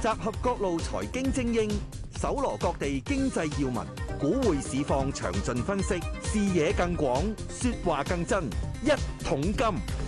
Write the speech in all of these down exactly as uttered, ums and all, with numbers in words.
集合各路財經精英，搜羅各地經濟要聞，股匯市況詳盡分析，視野更廣，說話更真。一桶金。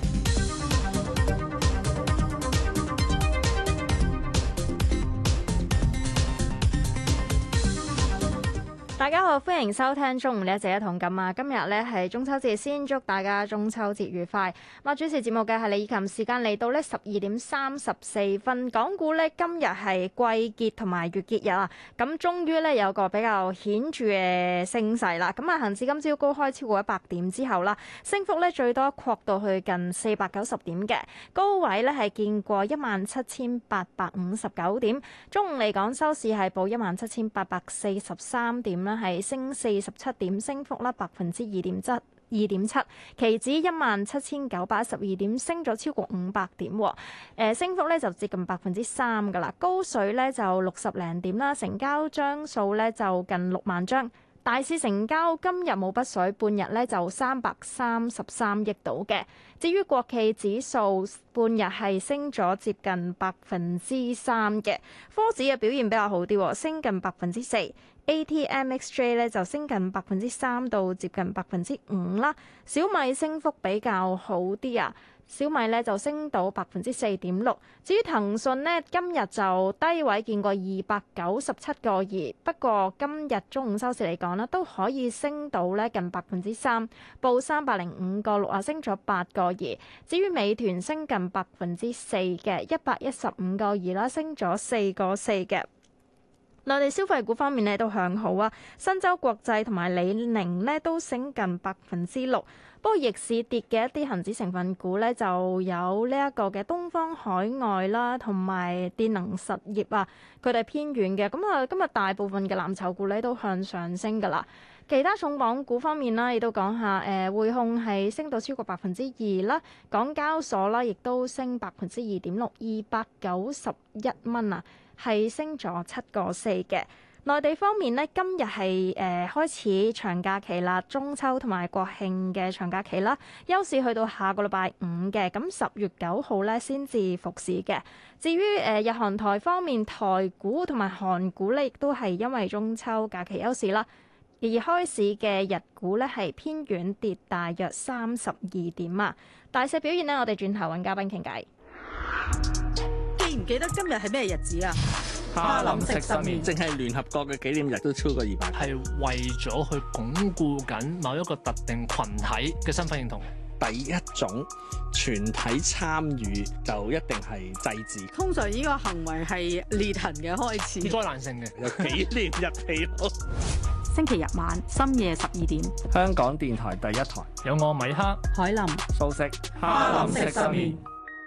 大家好，歡迎收聽中午呢一節一桶金啊！今日咧係中秋節，先祝大家中秋節愉快。咁啊，主持節目嘅係李以琴，時間嚟到咧十二點三十四分。港股咧今日係季結同埋月結日啊，咁終於咧有個比較顯著嘅升勢啦。咁啊，恒指今朝高開超過一百點之後啦，升幅咧最多擴到去近四百九十點嘅高位咧係見過一萬七千八百五十九點。中午嚟講收市係報一萬七千八百四十三點啦。係升四十七點，升幅啦百分之二點七，二點七。期指一萬七千九百一十二點，升咗超過五百點，誒升幅咧就接近百分之三噶啦。高水咧就六十零點啦，成交張數咧就近六萬張。大市成交今日冇筆水，半日咧就三百三十三億度嘅。至於國企指數半日係升咗接近百分之三嘅，科指嘅表現比較好啲，升近百分之四。A T M X J 咧就升近百分之三到接近百分之五啦。小米升幅比較好啲啊，小米咧就升到百分之四點六。至於騰訊呢，今日就低位見過二百九十七個二，不過今日中午收市嚟講呢，都可以升到咧近百分之三，報三百零五個六啊，升咗八個二。至於美團升近百分之四嘅一百一十五個二啦，升咗四個四嘅。內地消費股方面咧都向好啊，新洲國際同埋李寧咧都升近百分之六。不過逆市跌嘅一啲恒指成分股咧就有呢一個嘅東方海外啦，同埋電能實業啊，佢哋偏軟嘅。咁啊，今日大部分嘅藍籌股咧都向上升噶啦。其他重磅股方面啦，亦都講下誒，匯控係升到超過百分之二啦，港交所啦亦都升百分之二點六，二百九十一蚊啊。係升咗七個四嘅。內地方面呢，今日係誒開始長假期啦，中秋同埋國慶嘅長假期啦，休市去到下個禮拜五嘅，咁十月九號咧先至復市嘅。至於誒日韓台方面，台股同埋韓股咧，亦都係因為中秋假期休市啦，而開市嘅日股咧係偏軟跌大約三十二點啊。大市表現呢，我哋轉頭揾嘉賓傾偈。 記唔記得今日係咩日子啊？ 哈林食十年，淨係聯合國嘅紀念日都超過二百， 係為咗去鞏固緊某一個特定群體嘅身份認同。 第一種全體參與就一定係祭祀。 通常呢個行為係裂痕嘅開始， 災難性嘅， 有紀念日期咯。 星期日晚深夜十二點， 香港電台第一台有我米克、 海林、 素食哈林食十年。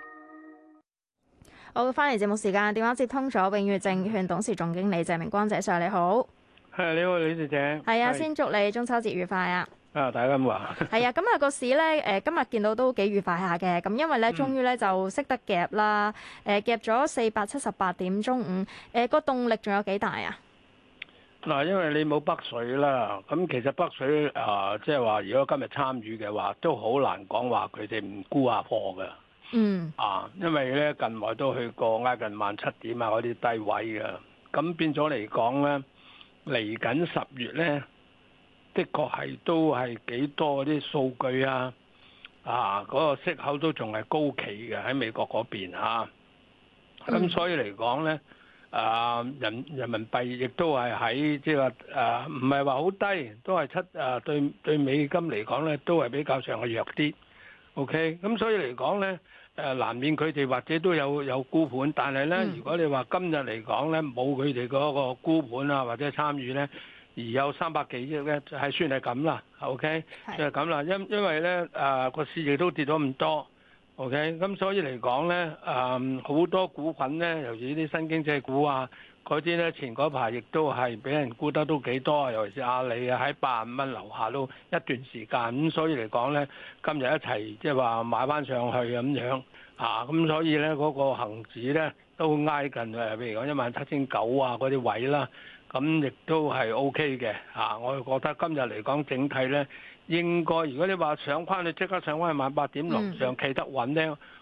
好，翻嚟節目時間，電話接通咗永裕證券董事總經理謝明光謝 Sir，你好。 係你好，李小姐。 係啊，先祝你中秋節愉快啊！ 啊，大家咁話。係啊，咁啊個市咧，誒今日見到都幾愉快下嘅，咁因為咧，終於咧就識得夾啦，誒夾咗四百七十八點，中午誒個動力仲有幾大啊？ 嗱，因為你冇北水啦，咁其實北水啊，即係話如果今日參與嘅話，都好難講話佢哋唔沽下貨嘅。 嗯啊，因為咧近來都去過挨近萬七點啊嗰啲低位嘅，咁變咗嚟講咧，嚟緊十月咧，的確係都係幾多啲數據啊，啊嗰、那個息口都仲係高企嘅喺美國嗰邊嚇，咁、啊、所以嚟講咧，啊人人民幣亦都係喺即係話誒唔係話好低，都係七誒、啊、對對美金嚟講咧都係比較上係弱啲。OK，咁所以嚟講咧。誒難免佢哋或者都有有沽盤，但係咧，嗯、如果你話今日嚟講咧，冇佢哋嗰個沽盤啊或者參與咧，而有三百幾億咧，就係算係咁啦。OK，是就係咁啦。因因為咧誒個市亦都跌咗咁多。OK，咁所以嚟講咧誒好多股份咧，尤其啲新經濟股啊嗰啲咧，前嗰排亦都係俾人沽得都幾多，尤其是阿里啊喺八十五蚊樓下都一段時間。咁所以嚟講咧，今日一齊即係話買翻上去咁樣。啊，咁所以咧嗰、那個恆指咧都挨近誒，譬如講一萬七千九啊嗰啲位啦，咁亦都係 O K 嘅嚇。我覺得今日嚟講整體咧，應該如果你話上翻去即刻上翻去萬八點樓上企得穩咧，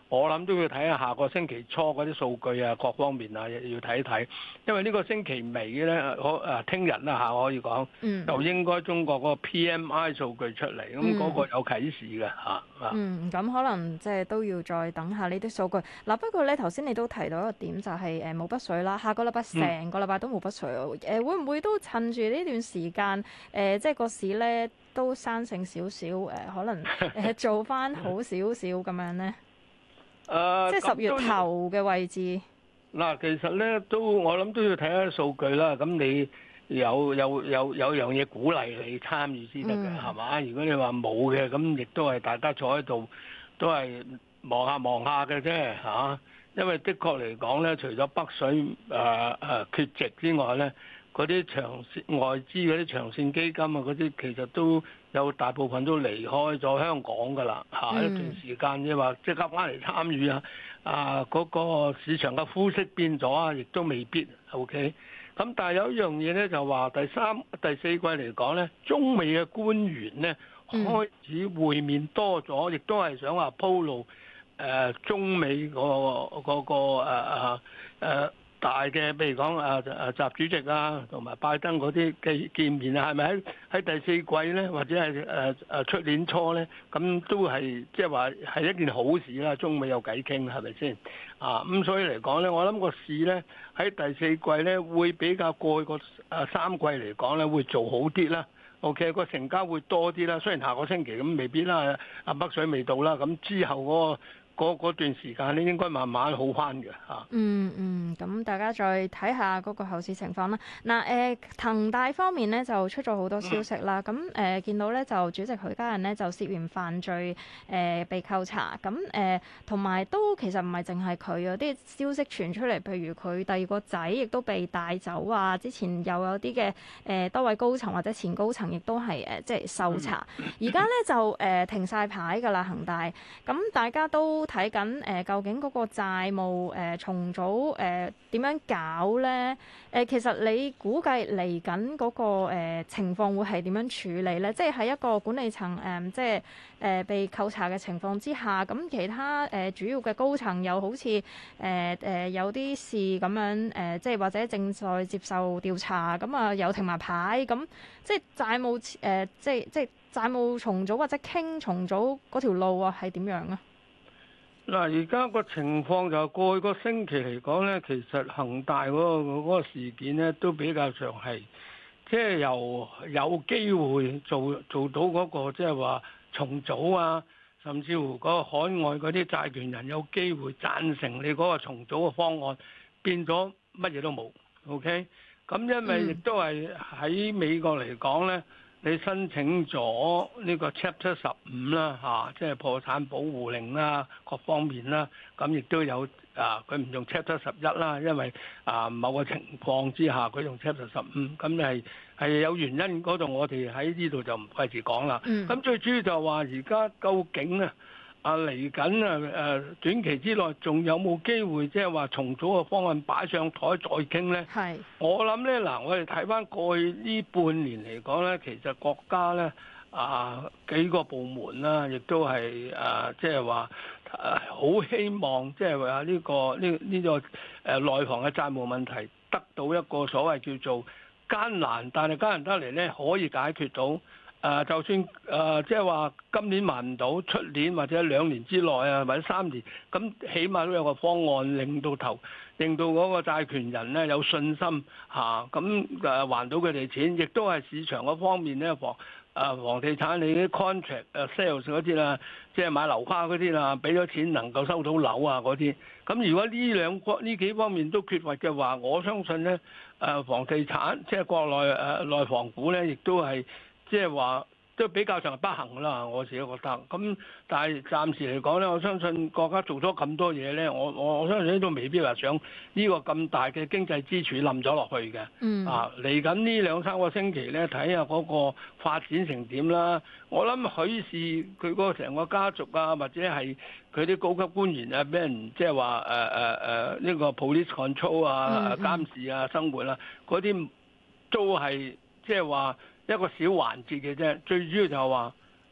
我諗都要睇下下個星期初嗰啲數據啊，各方面啊要睇一睇，因為呢個星期尾咧，可誒聽日啦嚇可以講， 嗯、 就應該中國嗰個 P M I 數據出嚟，咁嗰、 嗯、 個有啟示嘅嚇。 嗯，咁可能即係都要再等下呢啲數據。嗱，不過咧頭先你都提到一個點，就係誒冇筆水啦，下個禮拜成個禮拜都冇筆水喎。誒、嗯、會唔會都趁住呢段時間誒、呃，即係個市咧都生性少少誒，可能誒做翻好少少咁樣咧？誒，呃、即係十月頭嘅位置。 嗱，其實咧都我諗都要睇下數據啦。咁你有有有有樣嘢鼓勵你參與先得嘅，係嘛、嗯？如果你話冇嘅，咁亦都係大家坐喺度都係望下望下嘅啫嚇。因為的確嚟講咧，除咗北水誒誒、呃、缺席之外咧，嗰啲長線外資嗰啲長線基金啊，嗰啲其實都有大部分都離開咗香港㗎啦嚇。嗯、一段時間即係話即刻翻嚟參與啊，啊嗰、嗰個市場嘅膚色變咗啊，亦都未必 OK。咁但係有一樣嘢咧，就話第三第四季嚟講咧，中美嘅官員咧開始會面多咗，亦都係想話鋪路。誒、呃、中美嗰、那個嗰、那個誒、呃呃、大嘅，譬如講誒誒習主席啊，同埋拜登嗰啲嘅見面啊，係咪喺喺第四季咧，或者係誒誒出年初咧，咁都係即係話係一件好事啦。中美有偈傾，係咪先啊？咁所以嚟講咧，我諗個市咧喺第四季咧會比較過去個誒三季嚟講咧會做好啲啦。OK，個成交會多啲啦。雖然下個星期咁未必啦，阿北水未到啦，咁之後嗰、那個。嗰段時間咧，應該慢慢好翻嘅嚇。 嗯嗯，咁大家再睇下嗰個後市情況啦。嗱誒，恒大方面咧就出咗好多消息啦。咁誒、呃、見到咧就主席許家印咧就涉嫌犯罪誒、呃、被扣查。咁誒同埋都其實唔係淨係佢啊，啲消息傳出嚟，譬如佢第二個仔亦都被帶走啊。之前又有啲嘅誒多位高層或者前高層亦都係誒即係受查。而家咧就誒、呃、停晒牌㗎啦，恒大。咁大家都睇緊誒，究竟嗰個債務誒、呃、重組誒點、呃、樣搞咧？誒、呃，其實你估計嚟緊嗰個、呃、情況會係點樣處理咧？即係喺一個管理層誒、呃，即係誒、呃、被扣查嘅情況之下，咁其他誒、呃、主要嘅高層又好似誒誒有啲事咁樣誒、呃，即係或者正在接受調查，咁啊又停埋牌，咁即係債務誒、呃，即係即係債務重組或者傾重組嗰條路啊，係點樣啊？ 嗱，而家個情況就過去個星期嚟講咧，其實恒大嗰、嗰個嗰個事件咧都比較上係，即係由有機會做做到嗰、嗰個即係話重組啊，甚至乎嗰個海外嗰啲債權人有機會贊成你嗰個重組嘅方案，變咗乜嘢都冇。OK，咁因為亦都係喺美國嚟講咧。你申請咗呢個 Chapter 十五啦，嚇，即係破產保護令啦，各方面啦，咁亦都有啊，佢唔用 Chapter 十一啦，因為啊某個情況之下佢用 Chapter 十五，咁係係有原因嗰度，我哋喺呢度就唔費事講啦。咁、嗯、最主要就係話而家究竟啊？啊嚟緊啊誒短期之內仲有冇機會即係話重組嘅方案擺上台再傾咧？係是我諗咧嗱，我哋睇翻過去呢半年嚟講咧，其實國家咧啊幾個部門啦，亦都係啊即係話啊好希望即係話呢個呢呢、呢個誒內房嘅債務問題得到一個所謂叫做艱難，但係艱難得嚟咧可以解決到。誒、呃，就算誒，即係話今年還唔到，出年或者兩年之內啊，或者三年，咁起碼都有個方案，令到頭，令到嗰個債權人咧有信心嚇，咁、啊、誒還到佢哋錢，亦都係市場嗰方面咧房誒房地產你啲 contract 誒 sales 嗰啲啦，即係買樓花嗰啲啦，俾咗錢能夠收到樓啊嗰啲，咁如果呢兩個呢幾方面都缺乏嘅話，我相信咧誒房地產即係國內誒內房股咧，亦都係。即係話都比較上係不幸啦，我自己覺得。咁但係暫時嚟講咧，我相信國家做咗咁多嘢咧，我我我相信都未必話想呢個咁大嘅經濟支柱冧咗落去嘅。嗯。啊，嚟緊呢兩三個星期咧，睇下嗰個發展成點啦。我諗許氏佢嗰個成個家族啊，或者係佢啲高級官員啊，俾人即係話誒誒誒呢個 police control 啊、嗯、監視啊、生活啊嗰啲都係即係話。一個小環節嘅啫，最主要就係話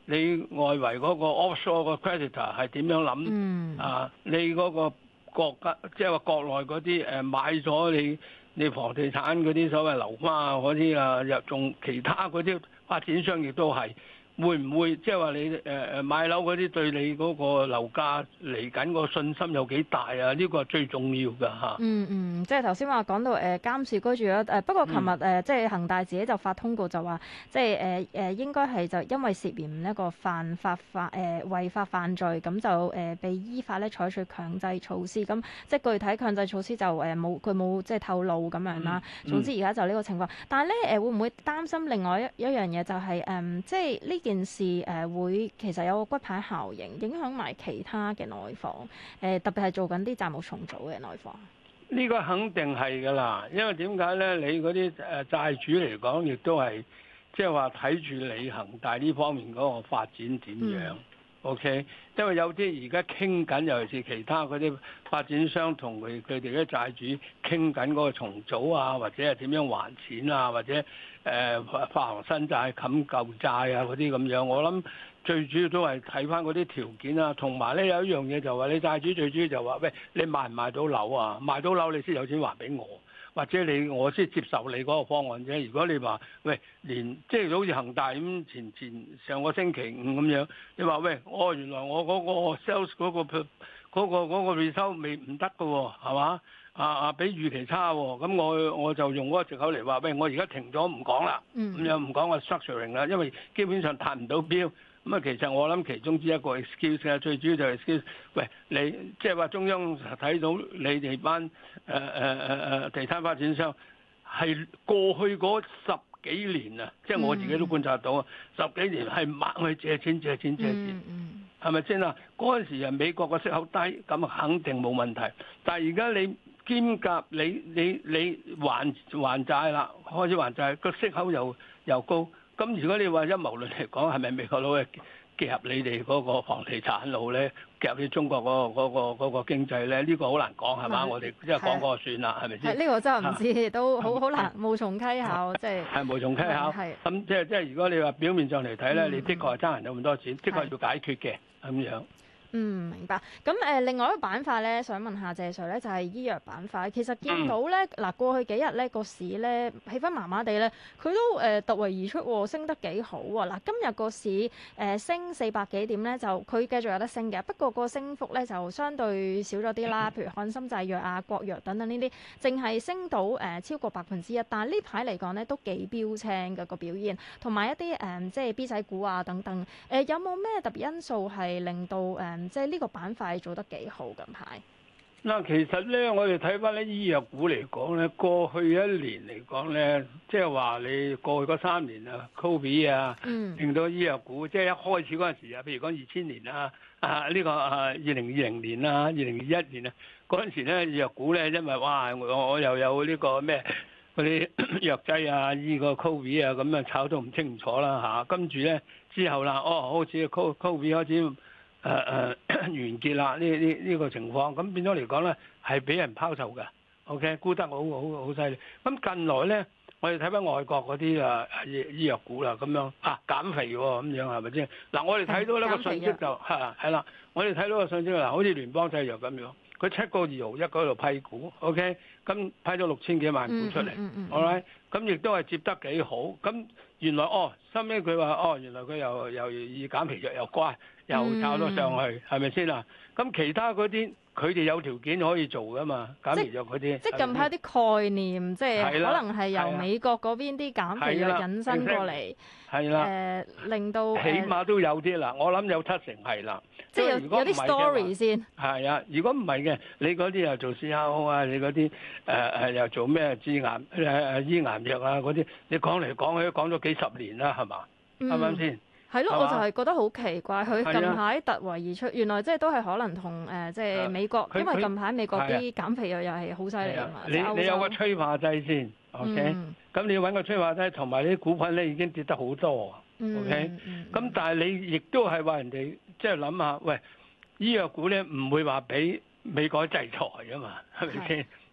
你外圍嗰個 offshore 個 creditor 係點樣諗？ 嗯、 啊，你嗰個國家即係話國內嗰啲誒買咗你你房地產嗰啲所謂樓花啊嗰啲啊，又仲其他嗰啲發展商亦都係。會唔會即係話你誒誒買樓嗰啲對你嗰個樓價嚟緊個信心有幾大啊？呢個係最重要㗎嚇。 嗯嗯，即係頭先話講到誒監視居住咗誒，不過琴日誒即係恒大自己就發通告就話，即係誒誒應該係就因為涉嫌一個犯法犯誒違法犯罪，咁就誒被依法咧採取強制措施。咁即係具體強制措施就誒冇佢冇即係透露咁樣啦。 嗯、 總之而家就呢個情況，但係咧誒會唔會擔心另外一一樣嘢就係、是、誒、嗯、即係呢件事誒會其實有個骨牌效應，影響埋其他嘅內房誒，特別係做緊啲債務重組嘅內房。 呢個肯定係㗎啦，因為點解咧？你嗰啲誒債主嚟講，亦都係即係話睇住你恒大呢方面嗰個發展點樣。嗯、OK，因為有啲而家傾緊，尤其是其他嗰啲發展商同佢佢哋嘅債主傾緊嗰個重組啊，或者係點樣還錢啊，或者誒、呃、發行新債冚舊債啊嗰啲咁樣。我諗最主要都係睇翻嗰啲條件啊，同埋咧有一樣嘢就話你債主最主要就話喂，你賣唔賣到樓啊？賣到樓你先有錢還俾我。或者你我先接受你嗰個方案啫。如果你話喂，連即係好似恒大咁，前前上個星期五咁樣，你話喂，哦原來我嗰個 sales 嗰個嗰個嗰個 result 未唔得㗎喎，係嘛？啊啊比預期差喎，咁我我就用嗰個藉口嚟話喂，我而家停咗唔講啦，咁樣唔講個 structuring 啦，因為基本上達唔到標。咁啊，其實我諗其中之一個 excuse 啊，最主要就係 excuse。喂，你即係話中央睇到你哋班誒誒誒誒地產發展商係過去嗰十幾年啊，即係我自己都觀察到啊，十幾年係猛去借錢借錢借錢，係咪先啊？嗰陣時啊，美國個息口低，咁啊肯定冇問題。但係而家你兼夾你你你還還債啦，開始還債，個息口又又高。咁如果你話陰謀論嚟講，係咪美國佬係夾入你哋嗰個房地產佬咧，夾入你中國嗰個嗰個嗰個經濟咧？呢個好難講係嘛？我哋即係講過算啦，係咪先？ 係呢個真係唔知，都好好難無從稽考，即係係無從稽考。咁即係即係如果你話表面上嚟睇咧，你的確係爭人咗咁多錢，的確要解決嘅咁樣。 嗯，明白。咁誒、呃，另外一個板塊咧，想問下謝 Sir 咧，就係、是、醫藥板塊。其實見到咧，嗱、嗯、過去幾日咧個市咧氣氛麻麻地咧，佢都誒、呃、突圍而出喎，升得幾好喎。嗱，今日個市誒、呃、升四百幾點咧，就佢繼續有得升嘅。不過個升幅咧就相對少咗啲啦。譬如漢森製藥啊、國藥等等呢啲，淨係升到誒、呃、超過百分之一。但係呢排嚟講咧都幾標青嘅個表現，同埋一啲誒、呃、即係 B 仔股啊等等。誒、呃、有冇咩特別因素係令到誒？呃即係呢個板塊做得幾好近排。 嗱，其實咧，我哋睇翻啲醫藥股嚟講咧，過去一年嚟講咧，即係話你過去嗰三年啊，Covid 啊，令到醫藥股即係一開始嗰陣時啊，譬如講二千年啊，啊呢個啊二零二零年啊，二零二一年啊，嗰陣時咧醫藥股咧，因為哇，我我又有呢個咩嗰啲藥劑啊，醫個 Covid 啊，咁啊炒到唔清楚啦嚇，跟住咧之後啦，哦，好似 Covid 開始。誒誒、呃、完結啦！呢呢呢個情況，咁變咗嚟講咧，係俾人拋售嘅。OK，沽得好好好犀利。咁近來咧，我哋睇翻外國嗰啲啊醫醫藥股啦，咁樣啊減肥喎，咁樣係咪先？嗱，我哋睇到呢個信息就係係啦，我哋睇到個信息嗱，好似聯邦製藥咁樣，佢七個二毫一嗰度批股 ，OK，咁批咗六千幾萬股出嚟，好啦，咁亦都係接得幾好。咁原來哦，收尾佢話哦，原來佢又又以減肥藥又乖。又炒咗上去，係咪先啊？咁其他嗰啲佢哋有條件可以做噶嘛？減肥藥嗰啲， 即係近排啲概念，即係可能係由美國嗰邊啲減肥藥引申過嚟， 係啦， 誒令到起碼都有啲啦。我諗有七成係啦， 即係有有啲 story 先。 係啊，如果唔係嘅，你嗰啲又做 C R O 啊，你嗰啲誒誒又做咩治癌誒誒醫癌藥啊嗰啲，你講嚟講去都講咗幾十年啦，係嘛？啱唔啱先？ 係咯，我就係覺得好奇怪，佢近排突圍而出，原來即係都係可能同誒即係美國，因為近排美國啲減肥藥又係好犀利啊嘛。 你你有個催化劑先 ，OK？咁你要揾個催化劑，同埋你啲股份咧已經跌得好多，OK？咁但係你亦都係話人哋即係諗下，喂，醫藥股咧唔會話俾美國制裁㗎嘛，係咪先？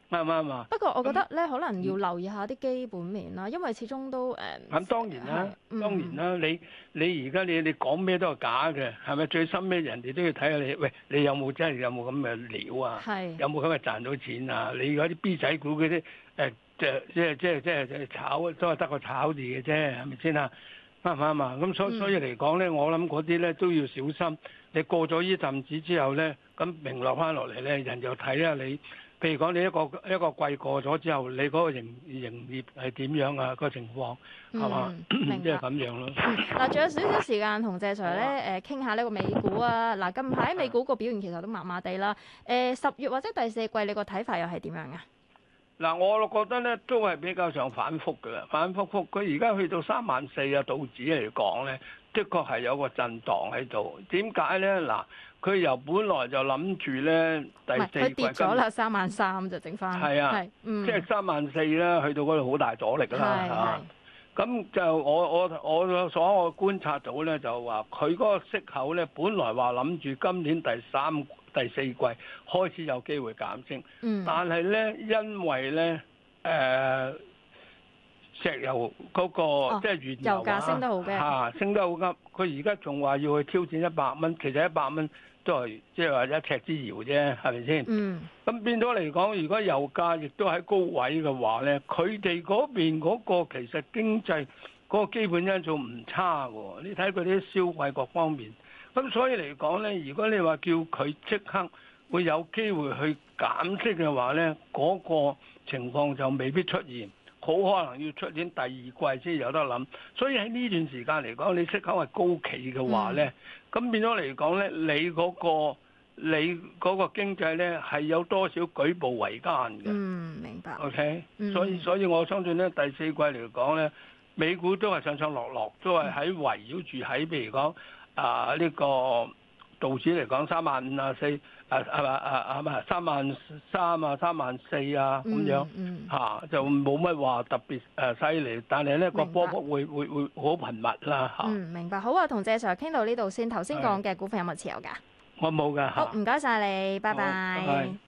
啱唔啱啊？ 不過我覺得咧，可能要留意下啲基本面啦，因為始終都誒。 咁當然啦， 係當然啦，你你而家你你講咩都係假嘅，係咪？最深咩人哋都要睇下你，喂，你有冇真係有冇咁嘅料啊？ 係有冇咁嘅賺到錢啊？你嗰啲 B 仔股嗰啲誒，即係即係即係即係即係炒都係得個炒字嘅啫，係咪先啊？啱唔啱啊？咁所所以嚟講咧，我諗嗰啲咧都要小心。你過咗呢陣子之後咧，咁明落翻落嚟咧，人就睇下你。譬如講你一個一個季過咗之後，你嗰個營營業係點樣啊？個情況係嘛？即係咁樣咯。 嗱，仲有少少時間同謝 Sir 咧誒傾下呢個美股啊。嗱，近排美股個表現其實都麻麻地啦。誒，十月或者第四季你個睇法又係點樣啊？ 嗱，我覺得咧都係比較上反覆嘅啦，反覆覆。佢而家去到三萬四啊，道指嚟講咧，的確係有個震盪喺度。點解咧？嗱，佢由本來就諗住咧第四季佢跌咗啦，三萬三就整翻。 係啊，係嗯、 即係三萬四啦，去到嗰度好大阻力啦嚇。咁就我我我所我觀察到咧，就話佢嗰個息口咧，本來話諗住今年第三第四季開始有機會減升，嗯、但係咧因為咧誒、呃、石油嗰、那個、哦、即係原油， 油價升得好嘅嚇升得好急，佢而家仲話要去挑戰一百蚊，其實一百蚊都係即係話一尺之遙啫，係咪先？嗯。咁變咗嚟講，如果油價亦都喺高位嘅話咧，佢哋嗰邊嗰個其實經濟嗰個基本因素唔差喎。你睇佢啲消費各方面，咁所以嚟講咧，如果你話叫佢即刻會有機會去減息嘅話咧，嗰個情況就未必出現，好可能要出年第二季先有得諗。所以喺呢段時間嚟講，你息口係高企嘅話咧，咁、嗯、變咗嚟講咧，你嗰個你嗰個經濟咧係有多少舉步維艱嘅？ 嗯，明白。 OK，、 嗯、 所以所以我相信咧，第四季嚟講咧，美股都係上上落落，都係喺圍繞住喺譬如講啊呢、這個道指嚟講三萬五啊四啊啊啊啊唔係三萬三啊三萬四啊咁樣嚇、 嗯嗯啊，就冇乜話特別誒犀利，但係咧個波幅會會會好頻密啦嚇。 嗯，明白。好啊，同謝 Sir 傾到呢度先。頭先講嘅股份有冇持有㗎？ 我冇㗎。 好，唔該晒你，拜拜。